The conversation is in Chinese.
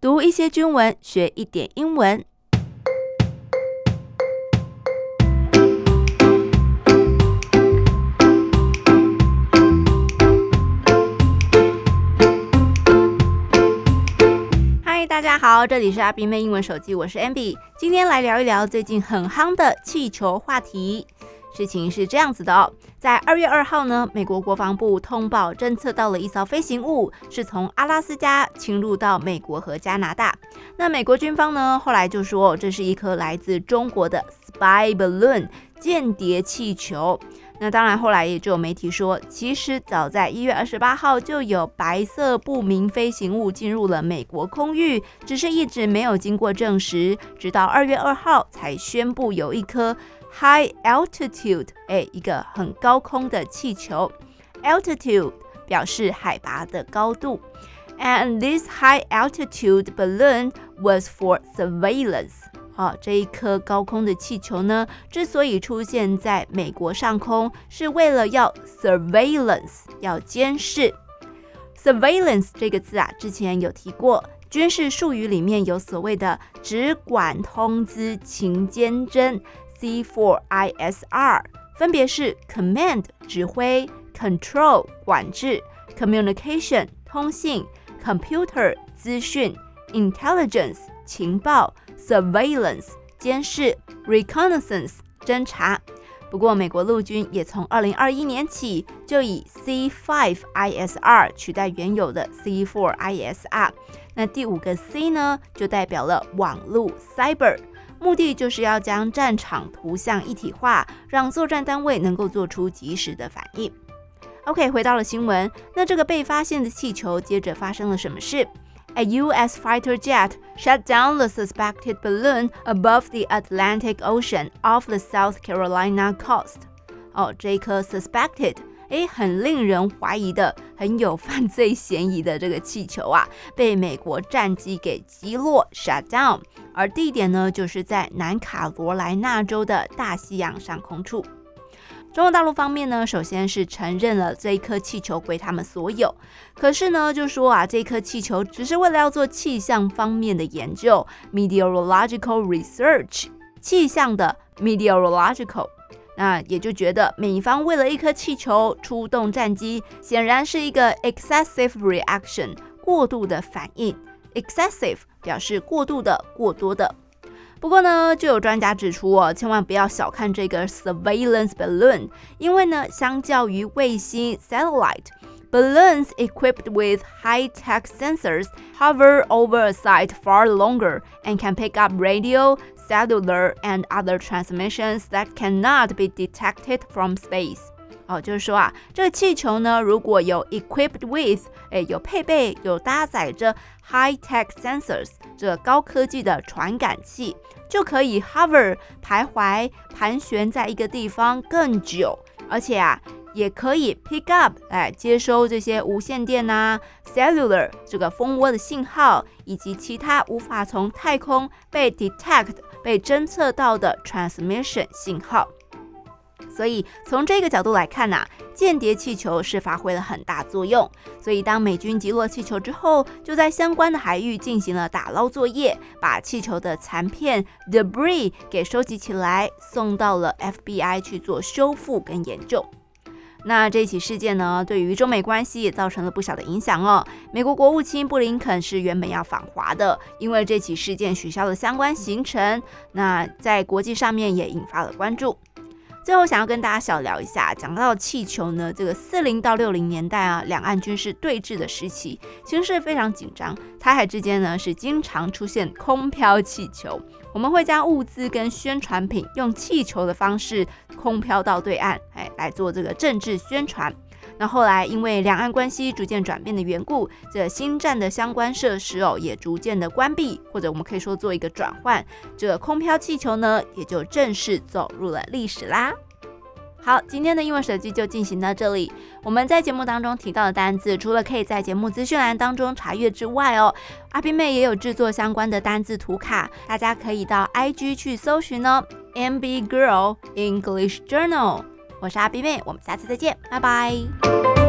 讀一些軍文，學一點英文。嗨，大家好，這裡是阿比妹英文手機，我是 Ambi。今天來聊一聊最近很夯的氣球話題。事情是這樣子的哦，在2月2號呢，美國國防部通報偵測到了一艘飛行物，是從阿拉斯加侵入到美國和加拿大。那美國軍方呢，後來就說這是一顆來自中國的 spy balloon 間諜氣球。那當然，後來也就有媒體說，其實早在1月28號就有白色不明飛行物進入了美國空域，只是一直沒有經過證實，直到2月2號才宣布有一顆High altitude， 一個很高空的氣球 ，altitude 表示海拔的高度 ，and this high altitude balloon was for surveillance。這一顆高空的氣球呢，之所以出現在美國上空，是為了要 surveillance， 要監視。surveillance 這個字啊，之前有提過。軍事術語裡面有所謂的指管通知情監偵。C4ISR 分別是 Command 指揮、Control 管制、Communication 通信、Computer 資訊、Intelligence 情報、Surveillance 監視、Reconnaissance 偵察。不過美國陸軍也從2021年起就以 C5ISR 取代原有的 C4ISR。那第5個 C 呢，就代表了網絡 Cyber。目的就是要將戰場圖像一體化，讓作戰單位能夠做出及時的反應。OK， 回到了新聞，那這個被發現的氣球接着發生了什麼事？ A U.S. fighter jet shot down the suspected balloon above the Atlantic Ocean off the South Carolina coast。這一顆 suspected。很令人懷疑的，很有犯罪嫌疑的這個氣球啊，被美國戰機給擊落 shut down， 而地點呢，就是在南卡羅來納州的大西洋上空處。中國大陸方面呢，首先是承認了這一顆氣球歸他們所有，可是呢，就說啊，這顆氣球只是為了要做氣象方面的研究 ，meteorological research， 氣象的 meteorological。那也就覺得美方為了一顆氣球出動戰機，顯然是一個 excessive reaction， 過度的反應。excessive 表示過度的、過多的。不過呢，就有專家指出千萬不要小看這個 surveillance balloon， 因為呢，相較於衛星 satellite，balloons equipped with high-tech sensors hover over a site far longer and can pick up radio,cellular and other transmissions that cannot be detected from space。就是說啊，這個氣球呢，如果有 equipped with， 有配備、有搭載着 high-tech sensors， 這個高科技的傳感器，就可以 hover 徘徊、盤旋在一個地方更久，而且啊，也可以 pick up 接收這些無線電啊 cellular 這個蜂窩的信號，以及其他無法從太空被 detect 被偵測到的 transmission 信號。所以從這個角度來看間諜氣球是發揮了很大作用。所以當美軍擊落氣球之後，就在相關的海域進行了打撈作業，把氣球的殘片 debris 給收集起來，送到了 FBI 去做修復跟研究。那這起事件呢，對於中美關係也造成了不小的影響哦。美國國務卿布林肯是原本要訪華的，因為這起事件取消了相關行程，那在國際上面也引發了關注。最後想要跟大家小聊一下，講到氣球呢，這個40到60年代兩岸軍事對峙的時期，形勢非常緊張，台海之間呢是經常出現空飄氣球，我們會將物資跟宣傳品用氣球的方式空飄到對岸，來做這個政治宣傳。那後來因為兩岸關係逐漸轉變的緣故，這新站的相關設施也逐漸的關閉，或者我們可以說做一個轉換，這個空飄氣球呢也就正式走入了歷史啦。好，今天的英文手機就進行到這裡。我們在節目當中提到的單字，除了可以在節目資訊欄當中查閱之外阿比妹也有制作相關的單字圖卡，大家可以到 IG 去搜尋MB Girl English Journal。我是阿比妹，我們下次再見，拜拜。